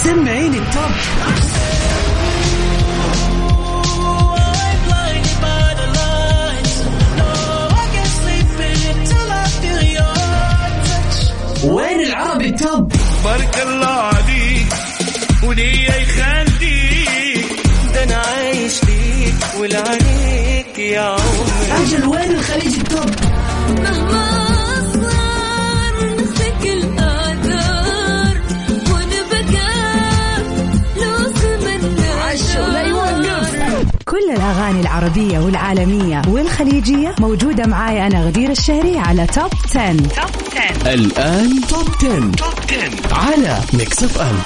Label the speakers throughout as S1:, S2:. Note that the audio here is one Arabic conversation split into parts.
S1: سمعين التوب. وين العربي التوب؟
S2: بارك الله عليك وليه يخليك، ده انا عايش ليك ولعنيك يا عمري.
S1: أجل وين الخليج التوب؟
S3: مهما أصغر نسلك الآثار ونبقى نوصل من
S1: عشو لا يوقف.
S4: كل الأغاني العربية والعالمية والخليجية موجودة معاي أنا غدير الشهري على توب 10.
S1: الآن توب 10 على ميكس اف ام.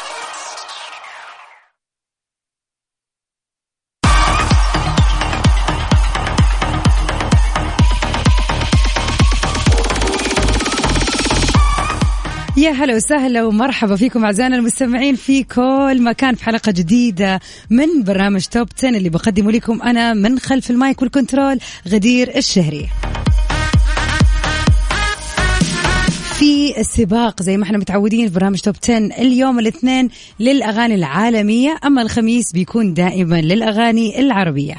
S4: يا هلا وسهلا ومرحبا فيكم أعزائنا المستمعين في كل مكان في حلقة جديدة من برنامج توب 10 اللي بقدمه لكم أنا من خلف المايك والكنترول غدير الشهري. في السباق زي ما احنا متعودين في برنامج توب 10 اليوم الاثنين للأغاني العالمية، أما الخميس بيكون دائما للأغاني العربية.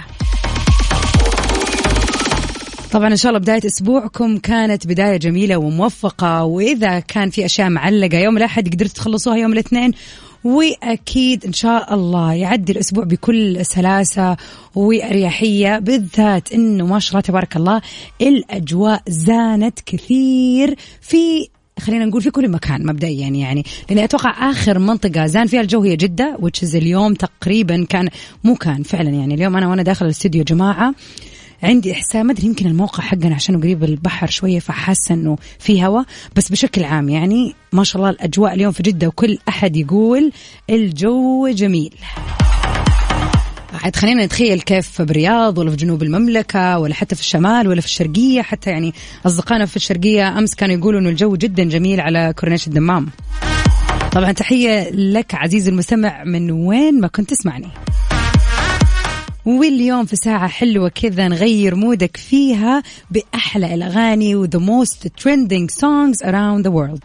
S4: طبعا إن شاء الله بداية أسبوعكم كانت بداية جميلة وموفقة، وإذا كان في أشياء معلقة يوم الأحد قدرت تخلصوها يوم الاثنين، وأكيد إن شاء الله يعدي الأسبوع بكل سلاسة وأريحية، بالذات إنه ما شاء الله تبارك الله الأجواء زانت كثير في خلينا نقول في كل مكان مبدئيا يعني، لأني أتوقع آخر منطقة زان فيها الجو هي جدة، which اليوم تقريبا كان فعلا يعني اليوم أنا وأنا داخل الاستوديو جماعة عندي إحساس، ما أدري يمكن الموقع حقنا عشان قريب البحر شوية فحاسة إنه في هوا، بس بشكل عام يعني ما شاء الله الأجواء اليوم في جدة وكل أحد يقول الجو جميل. عاد خلينا نتخيل كيف برياض ولا في جنوب المملكة ولا حتى في الشمال ولا في الشرقية، حتى يعني أصدقائنا في الشرقية أمس كانوا يقولوا إنه الجو جدا جميل على كورنيش الدمام. طبعا تحية لك عزيزي المستمع من وين ما كنت تسمعني. واليوم في ساعة حلوة كذا نغير مودك فيها بأحلى الأغاني و the most trending songs around the world.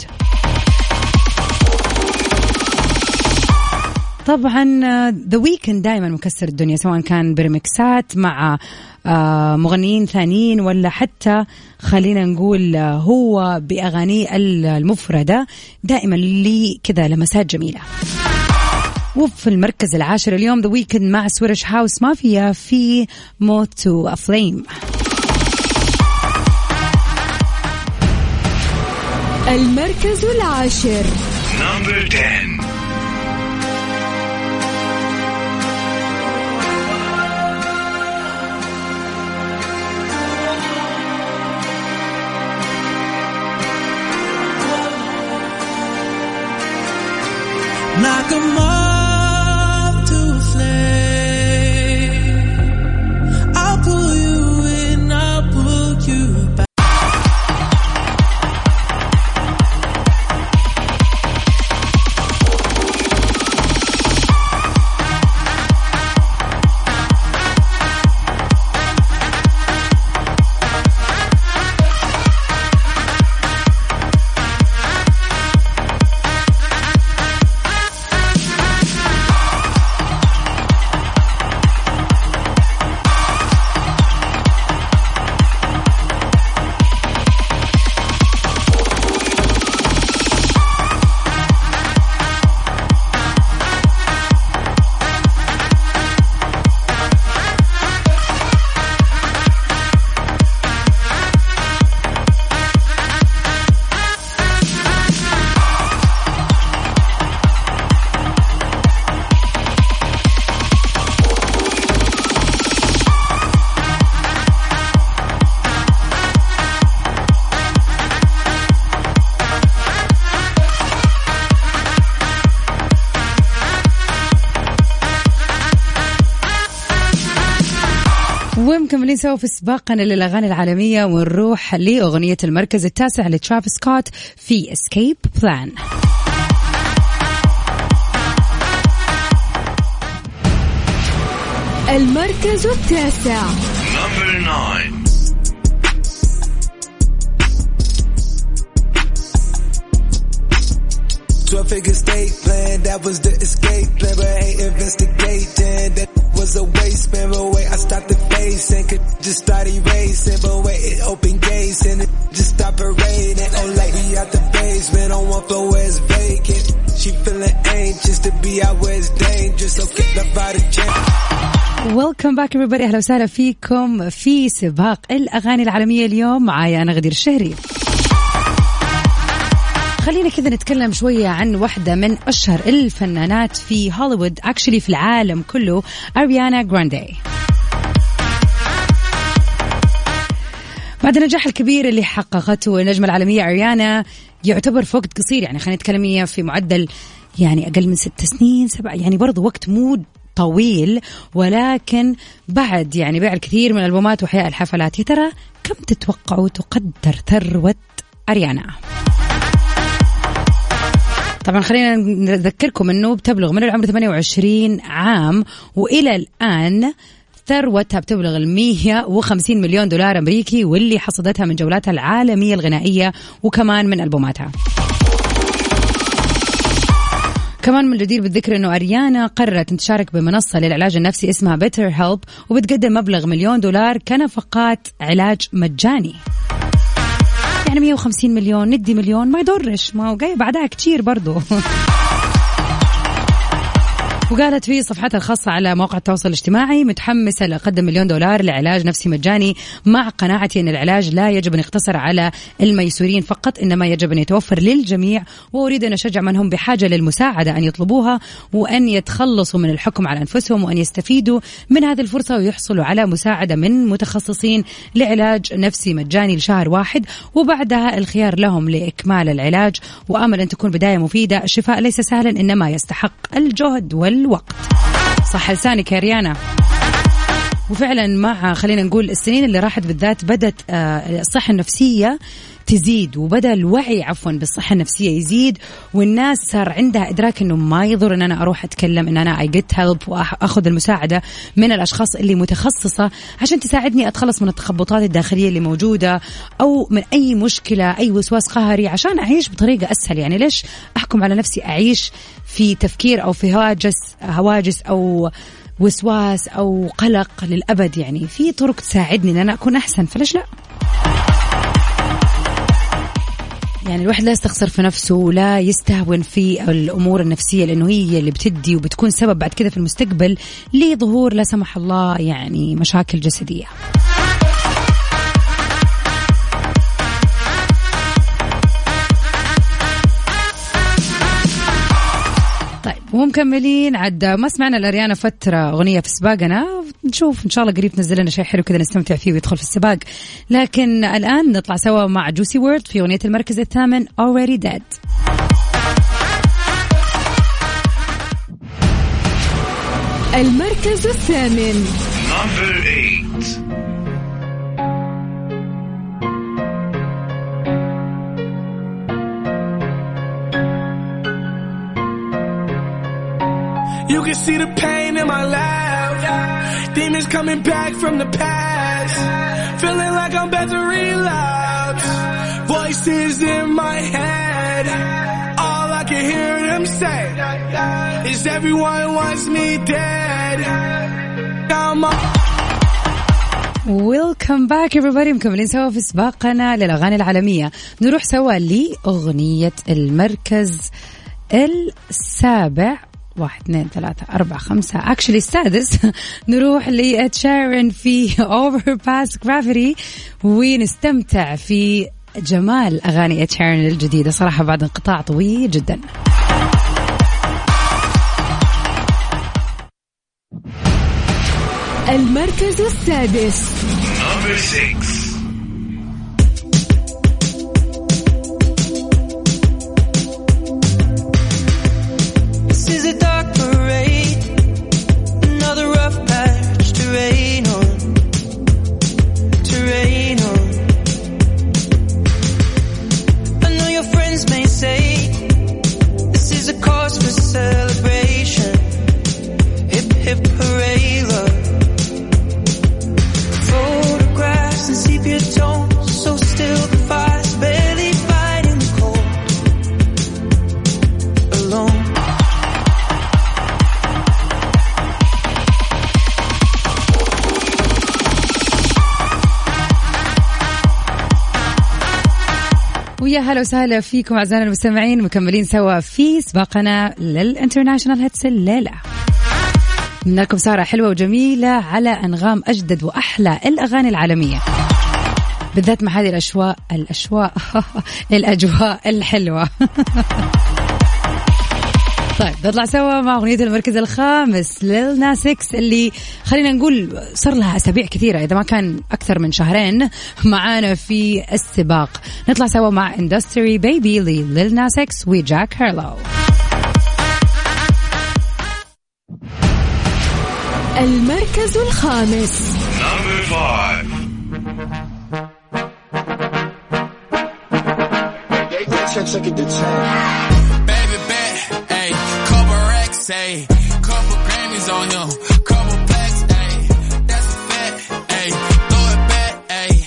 S4: طبعا The Weeknd دائما مكسر الدنيا، سواء كان بريمكسات مع مغنيين ثانيين ولا حتى خلينا نقول هو بأغانيه المفردة، دائما لي كذا لمسات جميلة. وفي المركز العاشر اليوم The Weeknd مع سويرش هاوس مافيا في Moth to a Flame.
S3: المركز العاشر
S2: Number 10.
S5: Like a moth to a flame, I'll pull you in, I'll pull you back.
S4: ومكملين سوا في سباقنا للأغاني العالمية، ونروح لأغنية المركز التاسع لترافيس سكوت في Escape Plan.
S3: المركز التاسع
S2: Number 9.
S5: Drop figure state plan, that was the escape plan, but I ain't investigating. That was a waste, man, but wait, I stopped the face and could just start erasing, but wait, it opened gates and it just stopped raining. Oh, like we out the basement on one floor where it's vacant. She feeling anxious to be out where it's dangerous, so get the body change.
S4: Welcome back everybody. أهلا وسهلا فيكم في سباق الأغاني العالمية اليوم. معايا أنا غدير الشهري. خلينا كذا نتكلم شوية عن واحدة من أشهر الفنانات في هوليوود، actually في العالم كله، أريانا جراندي. بعد النجاح الكبير اللي حققته النجمة العالمية أريانا، يعتبر في وقت قصير، يعني خلينا نتكلم في معدل يعني أقل من 6 سنين 7، يعني برضو وقت مو طويل، ولكن بعد يعني بيع الكثير من الألبومات وحياء الحفلات. يا ترى كم تتوقعوا تقدر ثروة أريانا؟ طبعا خلينا نذكركم أنه بتبلغ من العمر 28 عام وإلى الآن ثروتها بتبلغ 150 مليون دولار أمريكي، واللي حصدتها من جولاتها العالمية الغنائية وكمان من ألبوماتها. كمان من الجدير بالذكر أنه أريانا قررت أن تشارك بمنصة للعلاج النفسي اسمها بيتر هيلب، وبتقدم مبلغ $1,000,000 كنفقات علاج مجاني. يعني 150 مليون ندي مليون ما يضرش، ما هو جاي بعدها كتير برضو. وقالت في صفحتها الخاصة على موقع التواصل الاجتماعي متحمسة لأقدم $1,000,000 لعلاج نفسي مجاني، مع قناعتي أن العلاج لا يجب أن يقتصر على الميسورين فقط، إنما يجب أن يتوفر للجميع، وأريد أن أشجع من هم بحاجة للمساعدة أن يطلبوها وأن يتخلصوا من الحكم على أنفسهم، وأن يستفيدوا من هذه الفرصة ويحصلوا على مساعدة من متخصصين لعلاج نفسي مجاني لشهر واحد، وبعدها الخيار لهم لإكمال العلاج. وأمل أن تكون بداية مفيدة. الشفاء ليس سهلا، إنما يستحق الجهد والوقت. صح لسانك يا ريانا. وفعلا مع خلينا نقول السنين اللي راحت بالذات بدت الصحة النفسية تزيد، وبدأ الوعي بالصحة النفسية يزيد، والناس صار عندها إدراك إنه ما يضر إن أنا أروح أتكلم، إن أنا I get help وأخذ المساعدة من الأشخاص اللي متخصصة عشان تساعدني أتخلص من التخبطات الداخلية اللي موجودة، أو من أي مشكلة، أي وسواس قهري، عشان أعيش بطريقة أسهل. يعني ليش أحكم على نفسي أعيش في تفكير أو في هواجس أو وسواس أو قلق للأبد؟ يعني في طرق تساعدني إن أنا أكون أحسن، فليش لا؟ يعني الواحد لا يستخسر في نفسه ولا يستهون في الأمور النفسية، لأنه هي اللي بتدي وبتكون سبب بعد كده في المستقبل لظهور لا سمح الله يعني مشاكل جسدية. طيب ومكملين عد ما سمعنا لأريانا فترة أغنية في سباقنا، نشوف إن شاء الله قريب تنزل لنا شيء حلو كذا نستمتع فيه ويدخل في السباق. لكن الآن نطلع سوا مع جوسي وورد في أغنية المركز الثامن Already Dead.
S3: المركز الثامن.
S2: Number 8.
S5: You can see the pain in my life. Demons coming back from the past. Feeling like I'm about to relapse. Voices in my head. All I can hear them say is everyone wants me dead.
S4: Welcome back everybody. مكملين سوا في سباقنا للأغاني العالمية. نروح سوا لأغنية المركز السابع. 1 2 3 4 5 actually السادس. نروح لإد شيران في Overpass Gravity ونستمتع في جمال أغاني إد شيران الجديدة صراحة بعد انقطاع طويل جدا.
S3: المركز السادس.
S2: Number 6.
S5: Hip hooray love. Photographs and CP
S4: ويا هلا وسهلا فيكم أعزائنا المستمعين، مكملين سوا في سباقنا للانترناشنال هيتس الليلة. منكم سارة حلوة وجميلة على أنغام أجدد وأحلى الأغاني العالمية، بالذات مع هذه الأجواء الحلوة. طيب نطلع سوا مع أغنية المركز الخامس ليل ناس إكس، اللي خلينا نقول صار لها أسابيع كثيرة إذا ما كان أكثر من شهرين معانا في السباق. نطلع سوا مع Industry Baby ليل ناس إكس وجاك هارلو.
S3: المركز الخامس.
S2: Number 5.
S6: Say, couple Grammys on him, couple plaques, ayy, that's a fact, ayy, throw it back, ayy,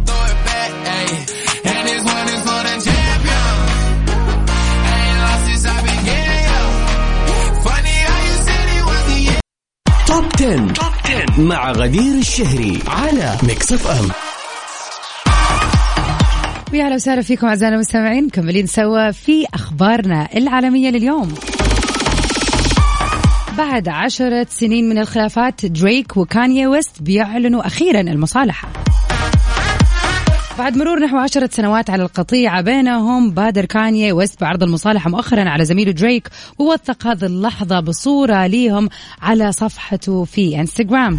S6: and this one is for the champion, I ain't lost since I began, yo, funny how you said it was the end.
S1: توب 10 مع غدير الشهري على ميكس اف ام.
S4: ويا هلا وسهلا فيكم أعزائنا المستمعين، مكملين سوا في أخبارنا العالمية لليوم. بعد 10 سنين من الخلافات، دريك وكانيي ويست بيعلنوا أخيرا المصالحة. بعد مرور نحو 10 سنوات على القطيعة بينهم، بادر كانيي ويست بعرض المصالحة مؤخرا على زميله دريك، ووثق هذه اللحظة بصورة ليهم على صفحته في انستغرام.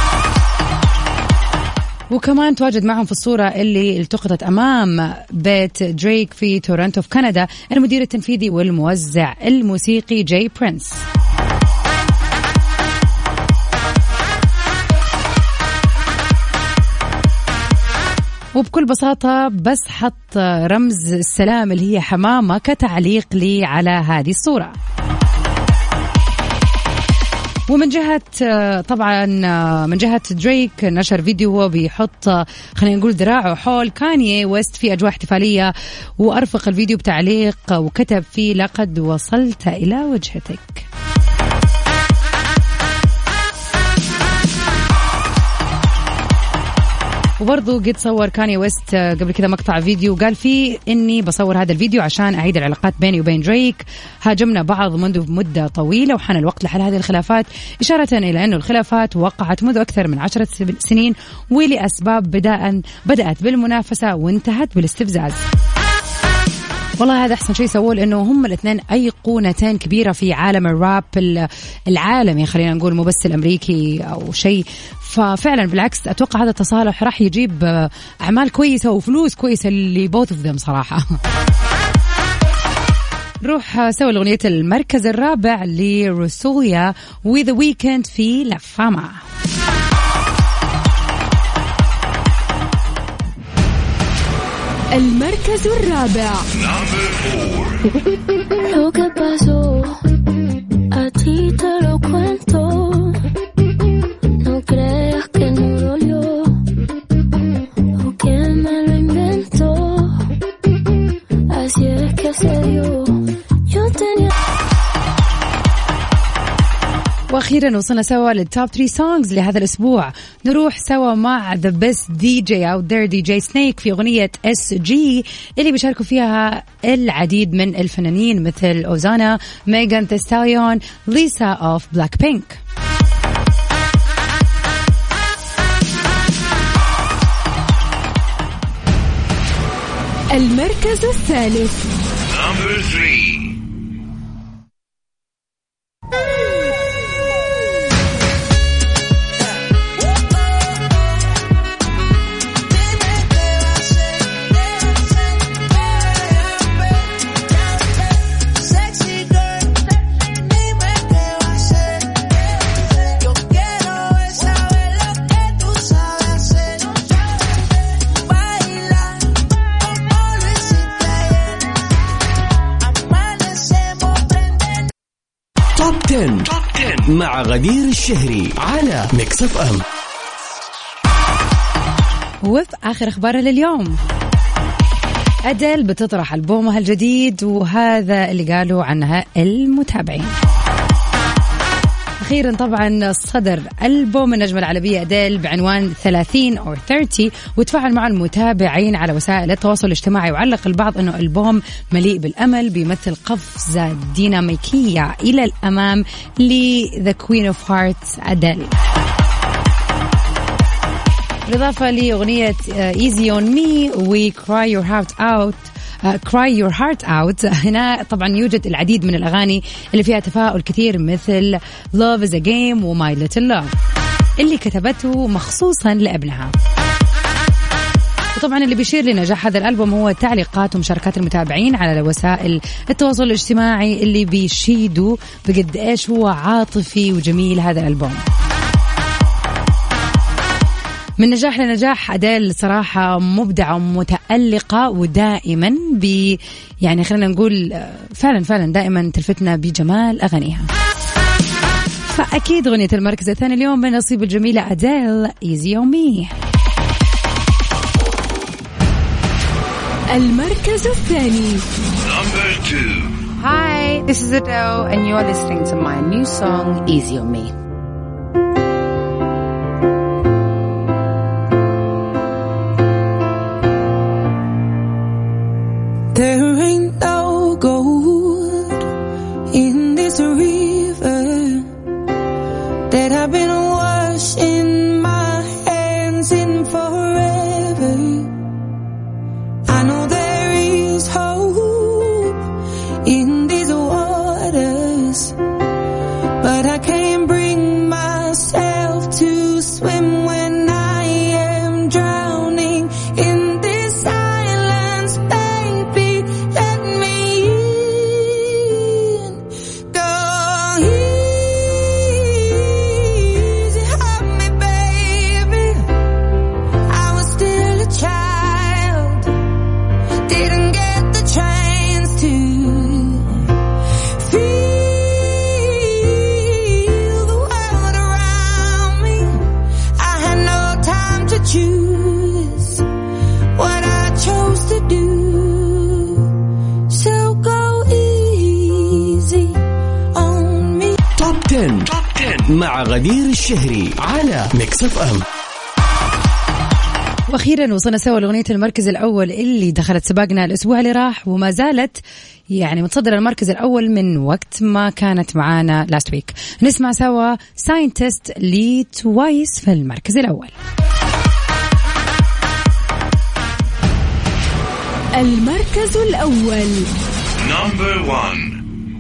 S4: وكمان تواجد معهم في الصورة اللي التقطت أمام بيت دريك في تورنتو في كندا المدير التنفيذي والموزع الموسيقي جاي برينس. وبكل بساطة بس حط رمز السلام اللي هي حمامة كتعليق لي على هذه الصورة. ومن جهة طبعا من جهة دريك نشر فيديو وهو بيحط خلينا نقول ذراعه حول كانيي ويست في أجواء احتفالية، وأرفق الفيديو بتعليق وكتب فيه لقد وصلت إلى وجهتك. وبرضو قد صور كانيي ويست قبل كذا مقطع فيديو قال فيه إني بصور هذا الفيديو عشان أعيد العلاقات بيني وبين دريك، هاجمنا بعض منذ مدة طويلة وحان الوقت لحل هذه الخلافات، إشارة إلى أنه الخلافات وقعت منذ أكثر من 10 سنين ولأسباب بدأت بالمنافسة وانتهت بالاستفزاز. والله هذا أحسن شيء سووه، لأنه هم الاثنين أيقونتين كبيرة في عالم الراب العالمي، خلينا نقول مو بس الأمريكي أو شيء. ففعلا بالعكس أتوقع هذا التصالح راح يجيب أعمال كويسة وفلوس كويسة اللي both of them صراحة. نروح سوي الأغنية المركز الرابع لروسوليا with the weekend في لا فاما.
S3: المركز الرابع.
S7: Lo que pasó a ti te lo cuento, no creas que no dolió o que me lo inventó, así es que se dio. Yo tenía.
S4: وأخيرا وصلنا سوا للتوب 3 سونجز لهذا الأسبوع. نروح سوا مع The Best DJ Out There DJ Snake في أغنية SG اللي بيشاركوا فيها العديد من الفنانين مثل أوزانا، ميغان ثي ستاليون، ليسا أوف بلاك بينك.
S3: المركز الثالث.
S2: Number 3.
S1: توب 10 مع غدير الشهري على ميكس اف ام.
S4: وفي آخر أخبارنا لليوم، أديل بتطرح ألبومها الجديد، وهذا اللي قالوا عنها المتابعين. وأخيرا طبعا صدر ألبوم النجمة العربية أديل بعنوان 30 أو 30، وتفاعل مع المتابعين على وسائل التواصل الاجتماعي، وعلق البعض أنه ألبوم مليء بالأمل بيمثل قفزة ديناميكية إلى الأمام ل The Queen of Hearts أديل. بالإضافة لأغنية Easy on Me و Cry Your Heart Out Cry Your Heart Out، هنا طبعا يوجد العديد من الأغاني اللي فيها تفاؤل كثير مثل Love is a Game و My Little Love اللي كتبته مخصوصا لابنها. وطبعا اللي بيشير لنجاح هذا الألبوم هو تعليقات ومشاركات المتابعين على وسائل التواصل الاجتماعي اللي بيشيدوا بقد إيش هو عاطفي وجميل هذا الألبوم. من نجاح لنجاح أديل صراحة مبدعة ومتألقة، ودائما يعني خلينا نقول فعلا دائما تلفتنا بجمال أغانيها. فأكيد أغنية المركز الثاني اليوم من نصيب الجميلة أديل Easy on Me.
S3: المركز الثاني.
S2: Number 2.
S8: Hi, this is Adele and you're listening to my new song Easy on Me.
S5: There ain't no gold in this river that I've been washing my hands in forever. I know there is hope in these waters, but I can't bring myself to swim when I am drowning in this silence. Baby, let me in. Go easy on me, baby. I was still a child, didn't get the chance to feel the world around me. I had no time to choose what I chose to do. So go easy on me.
S1: توب 10 مع غدير الشهري على ميكس اف ام.
S4: واخيرا وصلنا سوا لاغنيه المركز الاول اللي دخلت سباقنا الاسبوع اللي راح، وما زالت يعني متصدره المركز الاول من وقت ما كانت معانا لاست ويك. نسمع سوا ساينتست لتوايس في المركز الاول.
S3: المركز الأول.
S2: Number 1.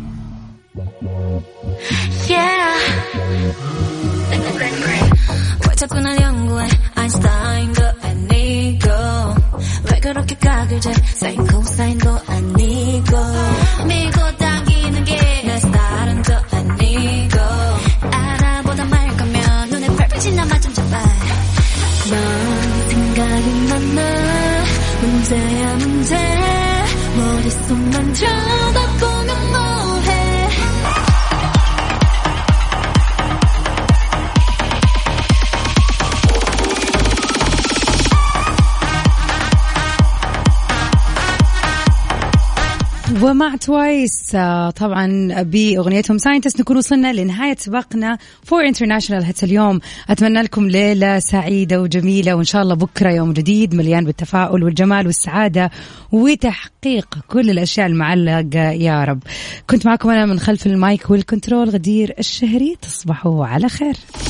S7: Yeah. 왜 자꾸 날 연구해 아인슈타인도 아니고 왜 그렇게 각을 재 사인 코사인도 아니고 밀고 당기는 게 내 스타일은 또 아니고 알아보다 말 거면 눈에 펄펄 나만 좀 잡아 넌 생각이 많아 문제야 문제 머릿속만 쳐다보면 뭐해.
S4: ومع توايس طبعا بأغنيتهم ساينتست نكون وصلنا لنهاية سباقنا فور انترناشنال هيتس اليوم. أتمنى لكم ليلة سعيدة وجميلة، وإن شاء الله بكرة يوم جديد مليان بالتفاؤل والجمال والسعادة وتحقيق كل الأشياء المعلقة يا رب. كنت معكم أنا من خلف المايك والكنترول غدير الشهري. تصبحوا على خير.